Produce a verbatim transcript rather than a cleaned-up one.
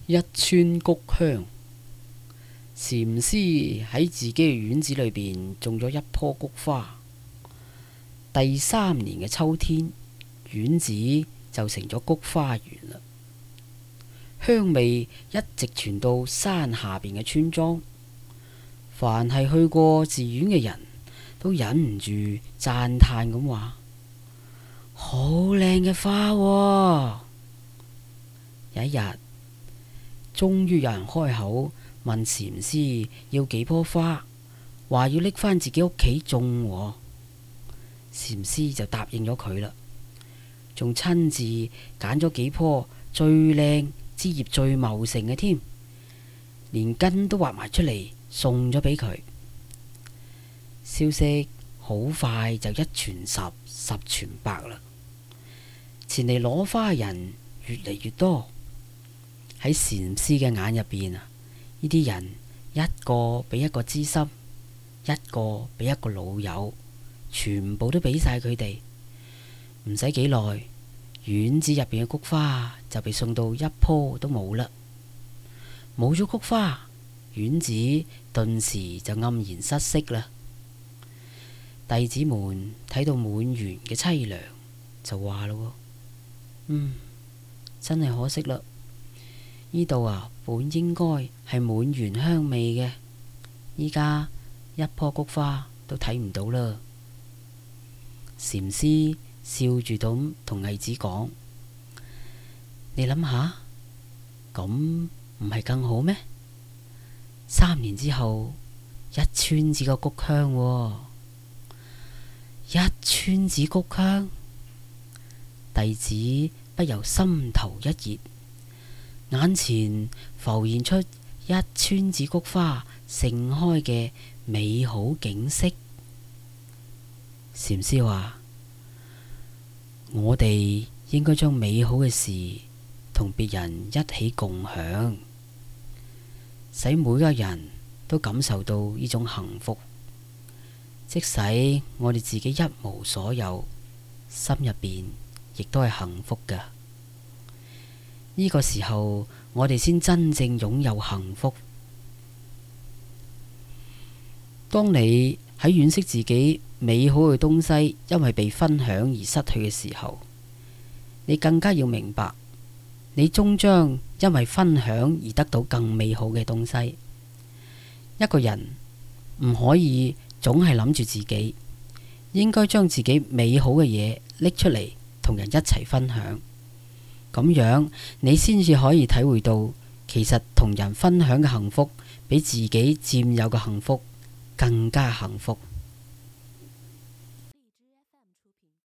一村菊香。禪師喺自己嘅院子裏邊種咗一棵菊花。第三年嘅秋天，院子就成咗菊花園啦。香味一直傳到山下邊嘅村莊。凡係去過寺院嘅人都忍唔住讚嘆咁話：好靚嘅花喎！有一日，終於有人開口問禪師要幾棵花，話要拎返自己屋企種喎。禪師就答應咗佢啦，仲親自揀咗幾棵最靚、枝葉最茂盛嘅添，連根都挖埋出嚟送咗俾佢。消息好快就一傳十，十傳百啦。前嚟攞花嘅人越嚟越多。喺禪師嘅眼入邊啊，呢啲人一個比一個知心，一個比一個老友，全部都俾晒佢哋。唔使幾耐，院子入邊嘅菊花就被送到一棵都冇啦。冇咗菊花，院子頓時就黯然失色啦。弟子們睇到滿園嘅淒涼，就話咯：嗯，真係可惜啦。呢度啊，本應該係滿園香味嘅，依家一棵菊花都睇唔到啦。禪師笑住咁同弟子講：你諗下，咁唔係更好咩？三年之後，一村子嘅菊香喎，一村子菊香，弟子不由心頭一熱。眼前浮現出一村子菊花盛開嘅美好景色。禪師話：我哋應該將美好嘅事同別人一起共享，使每個人都感受到呢種幸福。即使我哋自己一無所有，心入邊亦都係幸福㗎。呢個時候，我哋先真正擁有幸福。當你喺惋惜自己美好嘅東西因為被分享而失去嘅時候，你更加要明白，你終將因為分享而得到更美好嘅東西。一個人唔可以總係諗住自己，應該將自己美好嘅嘢拎出嚟同人一齊分享。咁樣你先至可以體會到，其實同人分享嘅幸福比自己佔有嘅幸福更加幸福。